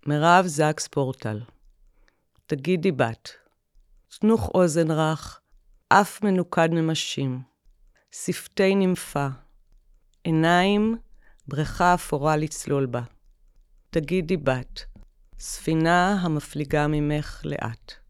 מירב זקס פורטל. תגידי בת. תנוך אוזן רך, אף מנוקד ממשים. שפתי נמפה. עיניים, בריכה אפורה לצלול בה. תגידי בת. ספינה המפליגה ממך לאט.